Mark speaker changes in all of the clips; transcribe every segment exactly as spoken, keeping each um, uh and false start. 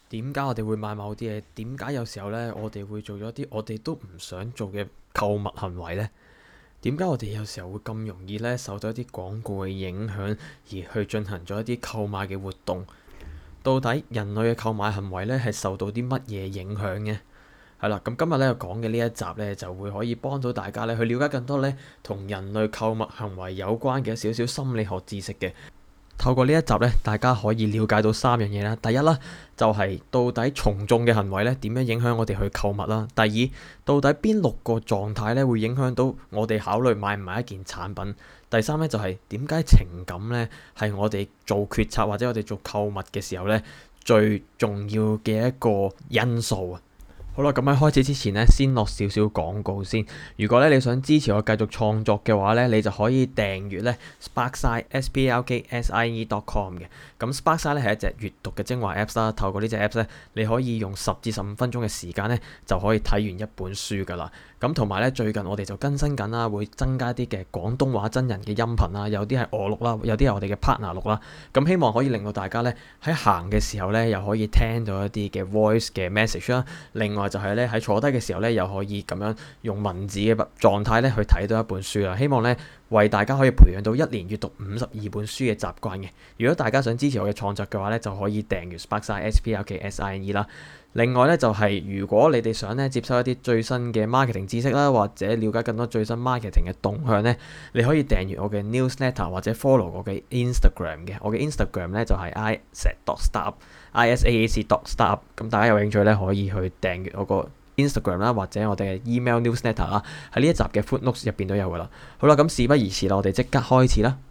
Speaker 1: 點解我哋會買某啲嘢？點解有時候呢，我哋會做咗啲我哋都唔想做嘅購物行為呢？點解我哋有時候會咁容易呢受到一啲廣告嘅影響，而去進行咗一啲購買嘅活動？到底人類嘅購買行為呢係受到啲乜嘢影響嘅？係啦，咁今日咧講嘅呢一集呢，就會可以幫到大家咧去了解更多呢同人類購物行為有關嘅少少心理學知識嘅。透過呢一集咧，大家可以了解到三樣嘢啦。第一啦，就係到底從眾嘅行為咧點樣影響我哋去購物啦。第二，到底邊六個狀態咧會影響到我哋考慮買唔買一件產品。第三咧就係點解情感咧係我哋做決策或者我哋做購物嘅時候咧最重要嘅一個因素啊。好啦，咁喺開始之前呢，先落少少廣告先。如果咧你想支持我繼續創作嘅話咧，你就可以訂閱咧 Sparkside S P L K S I E dot com 嘅。咁 Sparkside 咧係一隻閱讀嘅精華 Apps 啦。透過呢隻 Apps 咧，你可以用十至十五分鐘嘅時間咧，就可以睇完一本書噶啦。咁同埋咧，最近我哋就更新緊啦，會增加啲嘅廣東話真人嘅音頻啦，有啲係我錄啦，有啲係我哋嘅 partner 錄啦。咁希望可以令到大家咧喺行嘅時候咧，又可以聽到一啲嘅 voice 嘅 message 啦。另外就係咧喺坐低嘅時候咧，又可以咁樣用文字嘅狀態咧去睇到一本書啦。希望咧為大家可以培養到一年閱讀五十二本書嘅習慣嘅。如果大家想支持我嘅創作嘅話咧，就可以訂閱 Sparkside S P L K S I E 啦。另外咧就係、是、如果你哋想咧接收一啲最新嘅 marketing 知識啦，或者了解更多最新 marketing 嘅動向咧，你可以訂閱我嘅 newsletter 或者 follow 我嘅 Instagram 嘅。我嘅 Instagram 咧就係 isaac dot startup I S A A C dot startup。咁大家有興趣咧可以去訂閱我個 Instagram 啦，或者我哋嘅 email newsletter 啦，喺呢一集嘅 footnotes 入邊都有噶啦。好啦，咁事不宜遲啦，我哋即刻開始啦。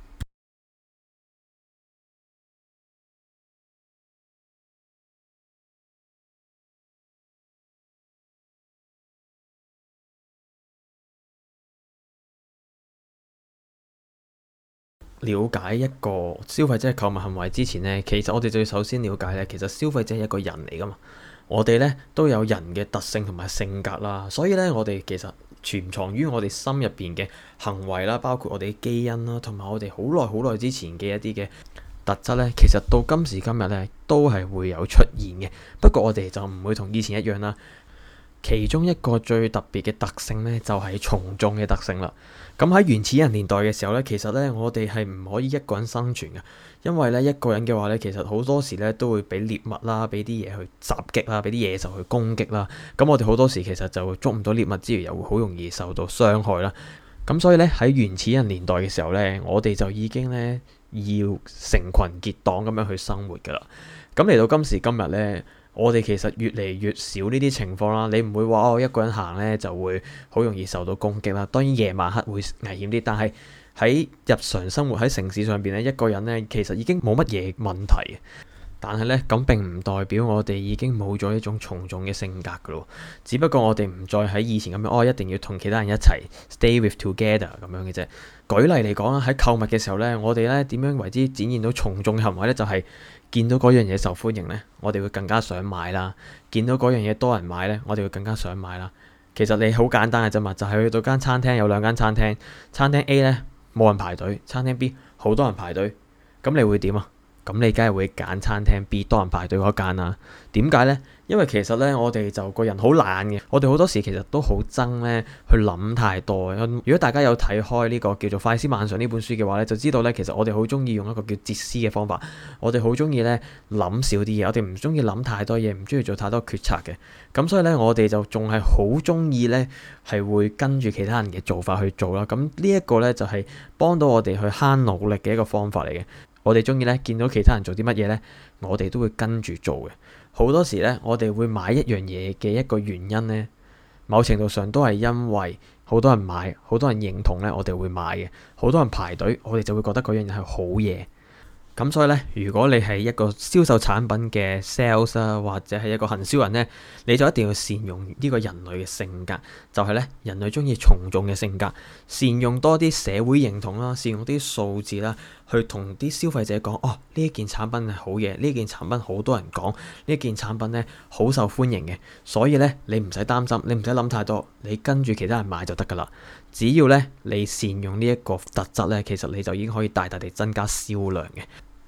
Speaker 1: 了解一個消費者嘅購物行為之前呢，其實我哋就要首先了解咧，其實消費者係一個人嚟噶嘛。我哋咧都有人嘅特性同埋性格啦，所以咧我哋其實潛藏於我哋心入邊嘅行為啦，包括我哋嘅基因啦，同埋我哋好耐好耐之前嘅一啲嘅特質咧，其實到今時今日咧都係會有出現嘅。不過我哋就唔會同以前一樣啦。其中一個最特別嘅特性咧，就係從眾嘅特性啦。咁喺原始人年代嘅時候咧，其實咧我哋係唔可以一個人生存嘅，因為咧一個人嘅話咧，其實好多時咧都會俾獵物啦，俾啲嘢去襲擊啦，俾啲野獸去攻擊啦。咁我哋好多時其實就會捉唔到獵物之餘，又會好容易受到傷害啦。咁所以咧喺原始人年代嘅時候咧，我哋就已經咧要成群結黨咁樣去生活噶啦。咁嚟到今時今日咧，我哋其實越嚟越少呢啲情況啦。你唔會話我一個人行咧就會好容易受到攻擊啦。當然夜晚黑會危險啲，但係喺日常生活喺城市上邊咧，一個人咧其實已經冇乜嘢問題。但係咧咁並唔代表我哋已經冇咗一種從眾嘅性格噶咯。只不過我哋唔再喺以前咁樣，哦一定要同其他人一齊 stay with together 咁樣嘅啫。舉例嚟講啦，喺購物嘅時候咧，我哋咧點樣為之展現到從眾嘅行為咧？就係、是見到嗰樣嘢受歡迎呢，我哋會更加想買啦。見到嗰樣嘢多人買呢，我哋會更加想買啦。其實你好簡單嘅啫嘛，就係、是、去到間餐廳，有兩間餐廳，餐廳 A 呢冇人排隊，餐廳 B 好多人排隊，咁你會點啊？咁你梗係會揀餐廳 B 多人排隊嗰間啦。點解呢？因為其實咧，我哋就個人好懶嘅，我哋好多時其實都好憎咧去諗太多。如果大家有睇開呢個叫做《快思慢想》呢本書嘅話咧，就知道咧，其實我哋好中意用一個叫哲思嘅方法。我哋好中意咧諗少啲嘢，我哋唔中意諗太多嘢，唔中意做太多決策嘅。咁所以咧，我哋就仲係好中意咧係會跟住其他人嘅做法去做啦。咁呢一個咧就係幫到我哋去慳努力嘅一個方法嚟嘅。我哋中意咧見到其他人做啲乜嘢咧，我哋都會跟住做嘅。好多時咧，我哋會買一樣嘢嘅一個原因咧，某程度上都係因為好多人買，好多人認同咧，我哋會買嘅。好多人排隊，我哋就會覺得嗰樣嘢係好嘢。咁所以咧，如果你係一個銷售產品嘅 sales 啊，或者係一個行銷人咧，你就一定要善用呢個人類嘅性格，就係咧人類中意從眾嘅性格，善用多啲社會認同啦，善用啲數字啦，去同啲消費者講，哦，呢一件產品係好嘢，呢件產品好多人講，呢件產品咧好受歡迎嘅，所以咧你唔使擔心，你唔使諗太多，你跟住其他人買就得噶啦。只要咧你善用呢一個特質咧，其實你就已經可以大大地增加銷量嘅。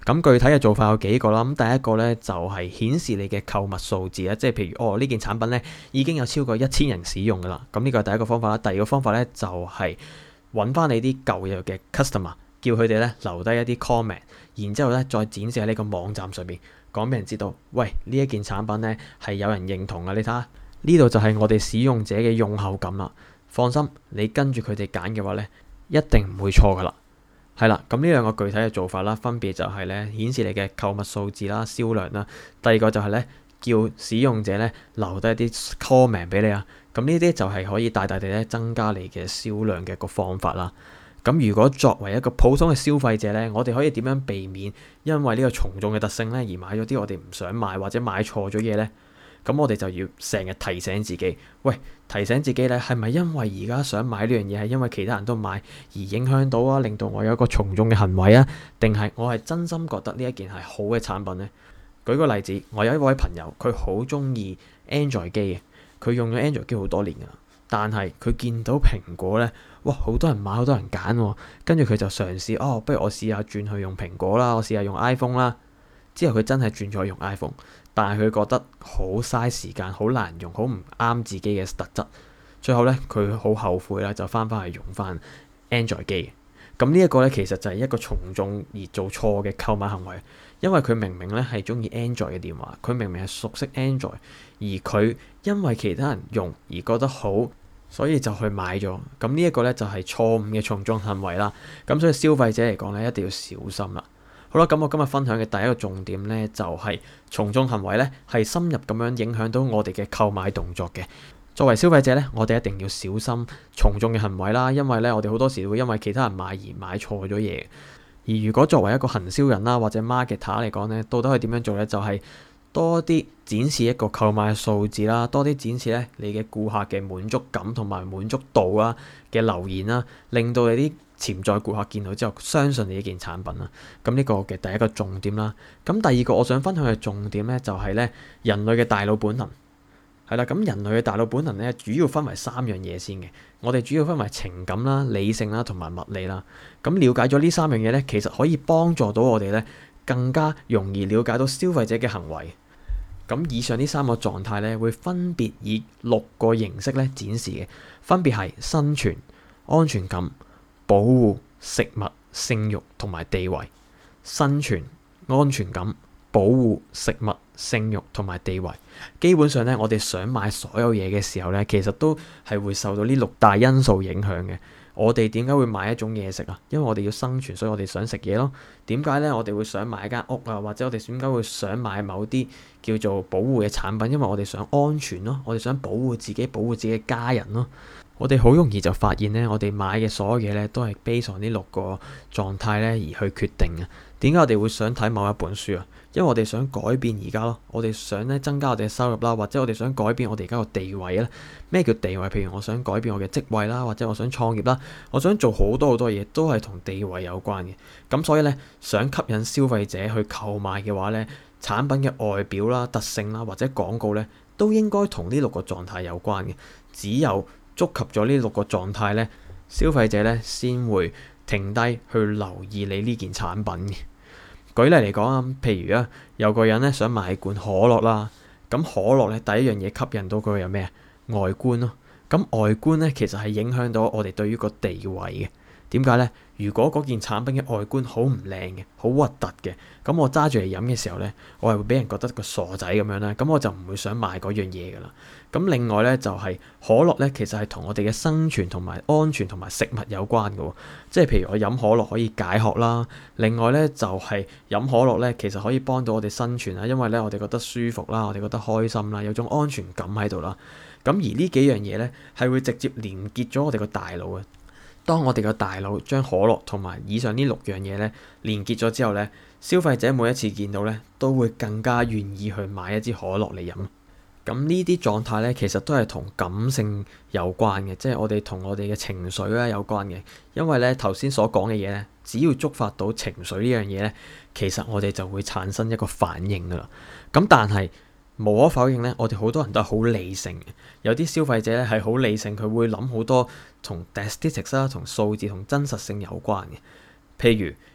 Speaker 1: 咁具體嘅做法有幾個啦。咁第一個咧就係顯示你嘅購物數字啦，即係譬如哦呢件產品咧已經有超過一千人使用噶啦。咁呢個係第一個方法啦。第二個方法咧就係揾翻你啲舊有嘅 customer，叫佢哋咧留低一啲 comment，然之後咧再展示喺呢個網站上邊，講俾人知道，喂呢一件產品咧係有人認同嘅。你睇下呢度就係我哋使用者嘅用後感啦。放心，你跟住佢哋揀嘅話咧，一定唔會錯噶啦。係啦，咁呢兩個具體嘅做法啦，分別就係咧顯示你嘅購物數字啦、銷量啦。第二個就係咧叫使用者咧留低一啲 comment 俾你啊。咁呢啲就係可以大大地咧增加你嘅銷量嘅一個方法啦。咁如果作為一個普通嘅消費者咧，我哋可以點樣避免因為呢個從眾嘅特性咧而買咗啲我哋唔想買或者買錯咗嘢咧？咁我哋就要成日提醒自己，喂，提醒自己咧，係咪因為而家想買呢樣嘢係因為其他人都買而影響到啊，令到我有一個從眾嘅行為啊？定係我係真心覺得呢一件係好嘅產品呢？舉個例子，我有一位朋友，佢好中意 Android 機嘅，佢用咗 Android 機好多年噶啦，但係佢見到蘋果咧，哇，好多人買，好多人揀喎，跟住佢就嘗試，哦，不如我試下轉去用蘋果啦，我試下用 iPhone 啦。之後佢真係轉咗用 iPhone，但係佢覺得好嘥時間，好難用，好唔啱自己嘅特質。最後咧，佢好後悔啦，就翻返去用翻 Android 機。咁呢一個咧，其實就係一個從眾而做錯嘅購買行為，因為佢明明咧係中意 Android 嘅電話，佢明明係熟悉 Android，而佢因為其他人用而覺得好，所以就去買咗。咁呢一個咧就係錯誤嘅從眾行為啦。咁所以消費者嚟講咧，一定要小心啦。好啦，咁我今日分享嘅第一個重點咧，就係從眾行為咧，係深入咁樣影響到我哋嘅購買動作嘅。作為消費者咧，我哋一定要小心從眾嘅行為啦，因為咧，我哋好多時會因為其他人買而買錯咗嘢。而如果作為一個行銷人啦，或者 marketer 嚟講咧，到底可以點樣做咧？就係多啲展示一個購買數字啦，多啲展示咧你嘅顧客嘅滿足感同埋滿足度啦嘅留言啦，令到你啲潛在顧客見到之後相信你呢件產品啦。咁呢個嘅第一個重點啦。咁第二個我想分享嘅重點咧，就係咧人類嘅大腦本能係啦。咁人類嘅大腦本能咧，主要分為三樣嘢先嘅。我哋主要分為情感啦、理性啦同埋物理啦。咁了解咗呢三樣嘢咧，其實可以幫助到我哋咧更加容易了解到消費者嘅行為。咁以上呢三個狀態咧，會分別以六個形式咧展示嘅，分別係生存、安全感、保護、食物、性慾同埋地位。生存、安全感、保護、食物、性慾同埋地位。基本上咧，我哋想買所有嘢嘅時候咧，其實都係會受到呢六大因素影響嘅。我哋點解會買一種嘢食啊？因為我哋要生存，所以我哋想食嘢咯。點解咧？我哋會想買一間屋啊，或者我哋點解會想買某啲叫做保護嘅產品？因為我哋想安全咯，我哋想保護自己，保護自己嘅家人咯。我哋好容易就發現咧，我哋買嘅所有嘢咧，都係 based on 呢六個狀態咧而去決定嘅。點解我哋會想睇某一本書啊？因為我哋想改變而家咯，我哋想咧增加我哋嘅收入啦，或者我哋想改變我哋而家個地位啦。咩叫地位？譬如我想改變我嘅職位啦，或者我想創業啦，我想做好多好多嘢，都係同地位有關嘅。咁所以咧，想吸引消費者去購買嘅話咧，產品嘅外表啦、特性啦，或者廣告咧，都應該同呢六個狀態有關嘅。只有觸及咗呢六個狀態咧，消費者咧先會停低去留意你呢件產品嘅。舉例嚟講啊，譬如啊，有個人咧想買罐可樂啦，咁可樂咧第一樣嘢吸引到佢有咩啊？外觀咯。咁外觀咧其實係影響到我哋對於個地位嘅。點解咧？如果嗰件產品嘅外觀好唔靚嘅，好核突嘅，咁我揸住嚟飲嘅時候咧，我係會俾人覺得個傻仔咁樣啦，咁我就唔會想買嗰樣嘢噶啦。咁另外咧就係可樂咧，其實係同我哋嘅生存同埋安全同埋食物有關嘅喎。即係譬如我飲可樂可以解渴啦，另外咧就係飲可樂咧，其實可以幫到我哋生存啊，因為咧我哋覺得舒服啦，我哋覺得開心啦，有種安全感喺度啦。咁而呢幾樣嘢咧係會直接連結咗我哋個大腦嘅。當我哋個大腦將可樂同埋以上呢六樣嘢咧連結咗之後咧，消費者每一次見到咧都會更加願意去買一支可樂嚟飲。咁呢啲狀態咧其實都係同感性有關嘅，即係我哋同我哋嘅情緒咧有關嘅。因為咧頭先所講嘅嘢咧，只要觸發到情緒呢樣嘢咧，其實我哋就會產生一個反應噶啦。咁但係無可否認咧，我哋好多人都係好理性嘅。有啲消費者咧係好理性，佢會諗好多同 statistics 啦、同數字同真實性有關嘅。譬如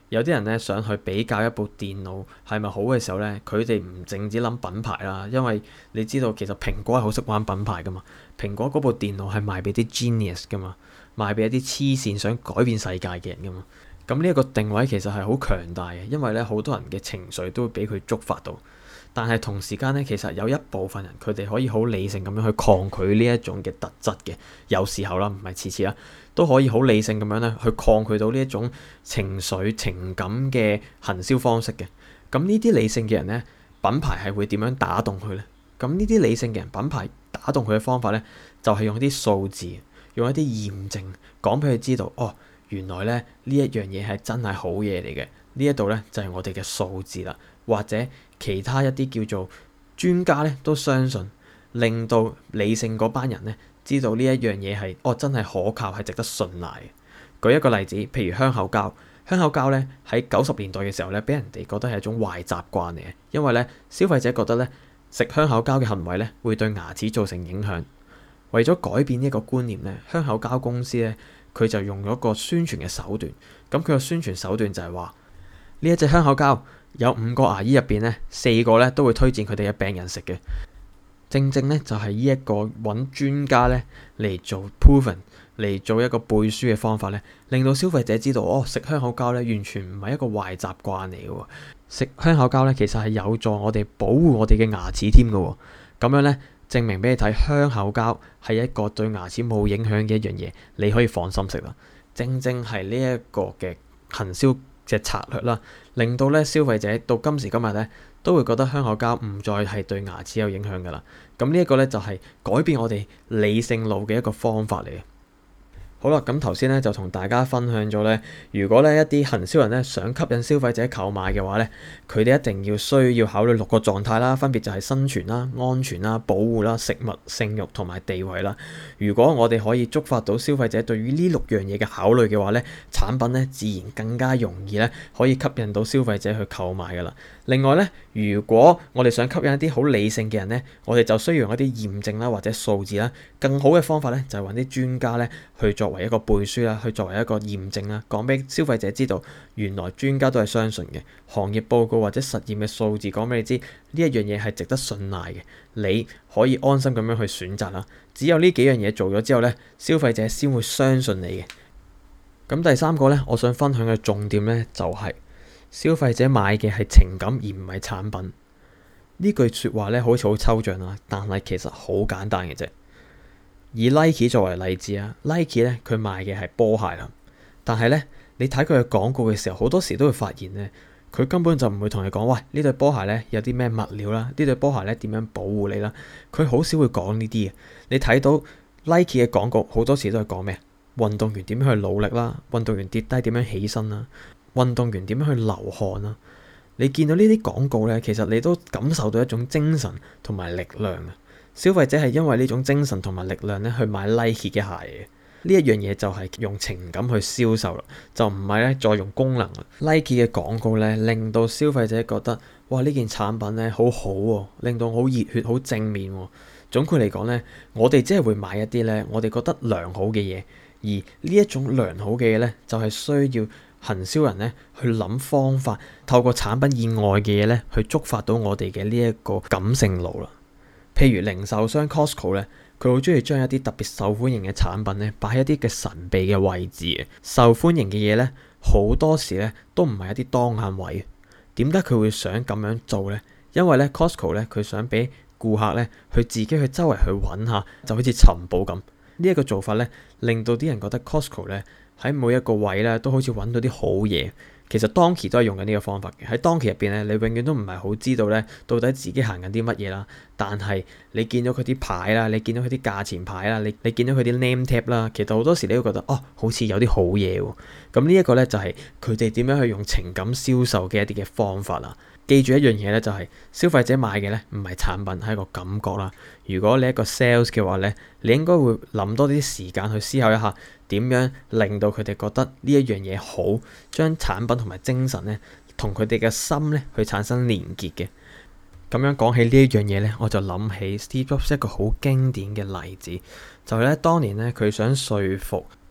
Speaker 1: 有啲人咧想去比較一部電腦係咪好嘅時候咧，佢哋唔淨止諗品牌啦，因為你知道其實蘋果係好識玩品牌噶嘛。蘋果嗰部電腦係賣俾啲 genius 噶嘛，賣俾一啲黐線想改變世界嘅人噶嘛。咁呢一個定位其實係好強大嘅，因為咧好多人嘅情緒都會俾佢觸發到。但係同時間咧，其實有一部分人佢哋可以好理性咁樣去抗拒呢一種嘅特質嘅，有時候啦，唔係次次啦，都可以好理性咁樣咧去抗拒到呢一種情緒情感嘅行銷方式嘅。咁呢啲理性嘅人咧，品牌係會點樣打動佢咧？咁呢啲理性嘅人，品牌打動佢嘅方法咧，就係用一啲數字，用一啲驗證，講俾佢知道，哦，原來咧呢一樣嘢係真係好嘢嚟嘅。呢一度咧就係我哋嘅數字啦，或者其他一啲叫做專家咧都相信，令到理性嗰班人咧知道呢一樣嘢係哦真係可靠，係值得信賴嘅。舉一個例子，譬如香口膠，香口膠咧喺九十年代嘅時候咧，俾人哋覺得係一種壞習慣嚟嘅，因為咧消費者覺得咧食香口膠嘅行為咧會對牙齒造成影響。為咗改變呢個觀念咧，香口膠公司咧佢就用咗個宣傳嘅手段。咁佢嘅宣傳手段就係話，呢一隻香口膠有五個牙醫入邊咧，四個咧都會推薦佢哋嘅病人食嘅。正正咧就係呢一個揾專家咧嚟做 proven 嚟做一個背書嘅方法咧，令到消費者知道哦，食香口膠咧完全唔係一個壞習慣嚟嘅喎。食香口膠咧其實係有助我哋保護我哋嘅牙齒添嘅喎。咁樣咧證明俾你睇，香口膠係一個對牙齒冇影響嘅一樣嘢，你可以放心食啦。正正係呢一個嘅行銷嘅策略啦，令到咧消費者到今時今日咧都會覺得香口膠唔再係對牙齒有影響噶啦。咁呢一個咧就係改變我哋理性腦嘅一個方法嚟嘅。好啦，咁頭先咧就同大家分享咗咧，如果咧一啲行銷人咧想吸引消費者購買嘅話咧，佢哋一定要需要考慮六個狀態啦，分別就係生存啦、安全啦、保護啦、食物、性慾同埋地位啦。如果我哋可以觸發到消費者對於呢六樣嘢嘅考慮嘅話咧，產品咧自然更加容易咧可以吸引到消費者去購買噶啦。另外咧，如果我哋想吸引一啲好理性嘅人咧，我哋就需要用一啲驗證啦或者數字啦。更好嘅方法咧就係揾啲專家咧去作為一個背書啦，去作為一個驗證啦，講俾消費者知道，原來專家都係相信嘅，行業報告或者實驗嘅數字講俾你知，呢一樣嘢係值得信賴嘅，你可以安心咁樣去選擇啦。只有呢幾樣嘢做咗之後咧，消費者先會相信你嘅。咁第三個咧，我想分享嘅重點咧就係消費者買嘅係情感而唔係產品。呢句説話咧好似好抽象啦，但係其實好簡單嘅啫。以 Nike 作為例子啊 Nike 咧佢賣嘅係波鞋啦，但係咧你睇佢嘅廣告嘅時候，好多時都會發現咧，佢根本就唔會同你講，喂，呢對波鞋咧有啲咩物料啦，呢對波鞋咧點樣保護你啦，佢好少會講呢啲嘅。你睇到 Nike 嘅廣告好多時都係講咩？運動員點樣去努力啦，運動員跌低點樣起身啦，運動員點樣去流汗啦。你見到呢啲廣告咧，其實你都感受到一種精神同埋力量啊！消費者係因為呢種精神同埋力量咧去買 Nike 嘅鞋嘅。呢一樣嘢就係用情感去銷售啦，就唔係咧再用功能啦。Nike 嘅廣告咧令到消費者覺得，哇，呢件產品咧好好喎，令到好熱血、好正面喎。總括嚟講咧，我哋只係會買一啲咧我哋覺得良好嘅嘢，而呢一種良好嘅嘢咧就係需要行銷人咧去諗方法，透過產品以外嘅嘢咧去觸發到我哋嘅呢一個感性腦啦。譬如零售商 Costco 咧，佢好中意將一啲特別受歡迎嘅產品咧擺喺一啲嘅神秘嘅位置嘅。受歡迎嘅嘢咧好多時咧都唔係一啲當眼位。點解佢會想咁樣做咧？因為咧 Costco 咧佢想俾顧客咧去自己去周圍去揾下，就好似尋寶咁。呢一個做法咧令到啲人覺得 Costco 咧喺每一個位咧都好似揾到啲好嘢。其實當期都係用緊呢個方法嘅。喺當期入邊咧，你永遠都唔係好知道咧到底自己行緊啲乜嘢啦。但係你見到佢啲牌啦，你見到佢啲價錢牌啦，你你見到佢啲 name tag 啦，其實好多時你都覺得哦，好似有啲好嘢喎。咁呢一個咧就係佢哋點樣去用情感銷售嘅一啲嘅方法啦。記住一樣嘢咧，就係消費者買嘅咧唔係產品，係一個感覺啦。如果你係一個 sales 嘅話咧，你應該會諗多啲時間去思考一下點樣令到佢哋覺得呢一樣嘢好，將產品同埋精神咧同佢哋嘅心咧去產生連結嘅。咁樣講起呢一樣嘢咧，我就諗起 Steve Jobs 一個好經典嘅例子，就係咧當年咧佢想說服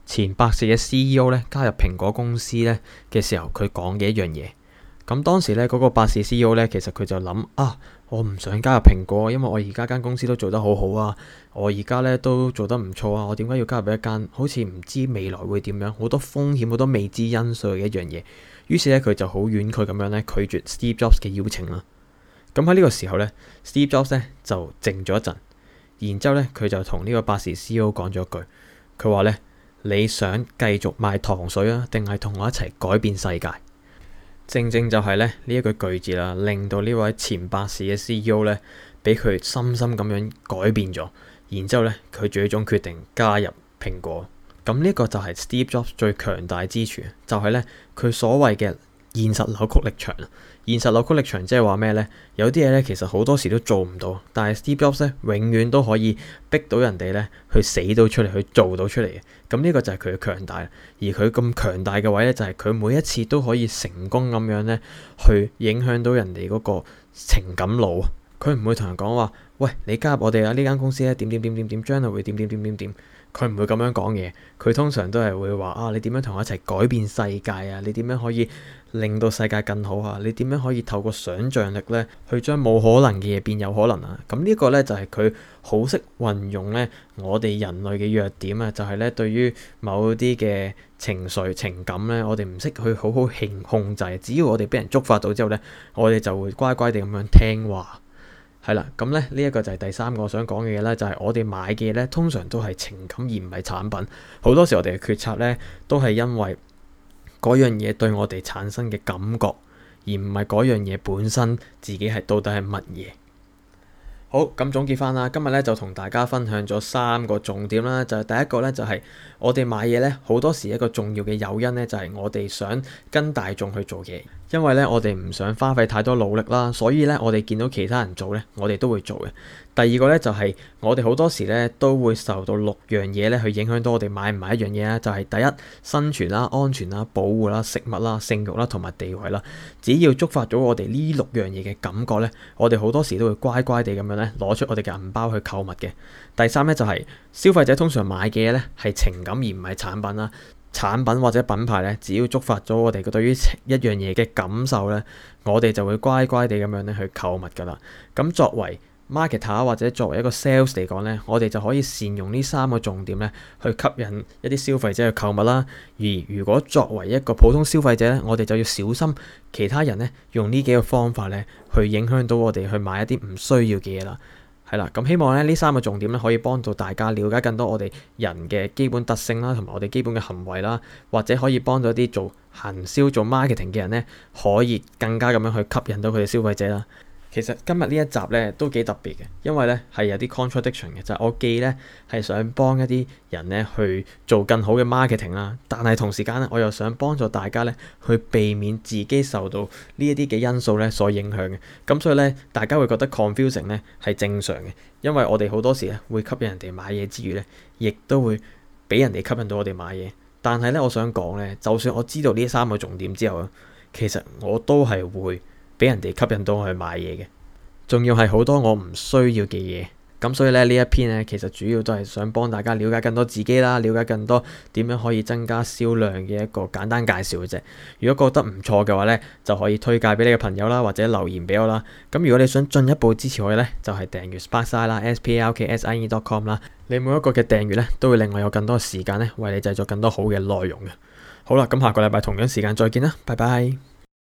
Speaker 1: 前百事嘅 C E O 咧加入蘋果公司咧嘅時候，佢講嘅一樣嘢。咁當時咧嗰個百事 C E O 咧，其實佢就諗啊，我唔想加入蘋果，因為我而家間公司都做得好好啊，我而家咧都做得唔錯啊，我點解要加入一間好似唔知未來會點樣，好多風險、好多未知因素嘅一樣嘢？於是咧佢就好婉拒咁樣咧拒絕 Steve Jobs 嘅邀請啦。咁喺呢個時候咧，Steve Jobs 咧就靜咗一陣，然之後咧佢就同呢個百事 C E O 講咗句，佢話咧，你想繼續賣糖水啊，定係同我一齊改變世界？正正就係咧呢一句句子啦，令到呢位前百事嘅 C E O 咧，俾佢深深咁樣改變咗。然之後咧，佢最終決定加入蘋果。咁呢個就係 Steve Jobs 最強大之處，就係咧佢所謂嘅現實扭曲力場。現實扭曲力場即係話咩呢？有啲嘢咧其實好多時都做唔到，但係 Steve Jobs 咧永遠都可以逼到人哋咧去死到出嚟，去做到出嚟嘅。咁呢個就係佢嘅強大。而佢咁強大嘅位咧，就係佢每一次都可以成功咁樣咧去影響到人哋嗰個情感路。佢唔會同人講話，喂，你加入我哋啊，呢間公司咧點點點點點，將來會點點點點點。佢唔會咁樣講嘢，佢通常都係會話啊，你點樣同我一齊改變世界啊？你點樣可以令到世界更好啊？你點樣可以透過想像力咧，去將冇可能嘅嘢變有可能啊？咁呢個咧就係佢好識運用咧我哋人類嘅弱點啊，就係咧對於某啲嘅情緒情感咧，我哋唔識去好好控控制。只要我哋俾人觸發到之後咧，我哋就會乖乖地咁樣聽話。係啦，咁咧呢一個就係第三個我想講嘅嘢咧，就係我哋買嘅嘢咧，通常都係情感而唔係產品。好多時我哋嘅決策咧，都係因為嗰樣嘢對我哋產生嘅感覺，而唔係嗰樣嘢本身自己係到底係乜嘢。好，咁總結翻啦，今日咧就同大家分享咗三個重點啦，就係第一個咧就係我哋買嘢咧，好多時一個重要嘅誘因咧，就係我哋想跟大眾去做嘢。因為咧，我哋唔想花費太多努力啦，所以咧，我哋見到其他人做咧，我哋都會做嘅。第二個咧就係我哋好多時咧都會受到六樣嘢咧去影響到我哋買唔買一樣嘢啦。就係第一，生存啦、安全啦、保護啦、食物啦、性慾啦同埋地位啦。只要觸發咗我哋呢六樣嘢嘅感覺咧，我哋好多時都會乖乖地咁樣咧攞出我哋嘅銀包去購物嘅。第三咧就係消費者通常買嘅嘢咧係情感而唔係產品啦。產品或者品牌咧，只要觸發咗我哋對於一樣嘢嘅感受咧，我哋就會乖乖地咁樣咧去購物噶啦。咁作為 marketer 或者作為一個 sales 嚟講咧，我哋就可以善用呢三個重點咧，去吸引一啲消費者去購物啦。而如果作為一個普通消費者咧，我哋就要小心其他人咧用呢幾個方法咧，去影響到我哋去買一啲唔需要嘅嘢啦。係啦，咁希望咧呢三個重點咧可以幫到大家了解更多我哋人嘅基本特性啦，同埋我哋基本嘅行為啦，或者可以幫到啲做行銷、做 marketing 嘅人咧，可以更加咁樣去吸引到佢哋消費者啦。其實今日呢一集咧都幾特別嘅，因為咧係有啲 contradiction 嘅，就係我既咧係想幫一啲人咧去做更好嘅 marketing 啦，但係同時間咧我又想幫助大家咧去避免自己受到呢一啲嘅因素咧所影響嘅。咁所以咧大家會覺得 confusing 咧係正常嘅，因為我哋好多時咧會吸引人哋買嘢之餘咧，亦都會俾人哋吸引到我哋買嘢。但係咧我想講咧，就算我知道呢三個重點之後啊，其實我都係會俾人哋吸引到我去買嘢嘅，仲要係好多我唔需要嘅嘢。咁所以咧呢一篇咧，其實主要都係想幫大家了解更多自己啦，了解更多點樣可以增加銷量嘅一個簡單介紹嘅啫。如果覺得唔錯嘅話咧，就可以推介俾你嘅朋友啦，或者留言俾我啦。咁如果你想進一步支持我嘅咧，就係訂閱 Sparksine 啦 ，s p a r k s i n e dot com 啦。你每一個嘅訂閱咧，都會令我有更多時間咧，為你製作更多好嘅內容嘅。好啦，咁下個禮拜同樣時間再見啦，拜拜。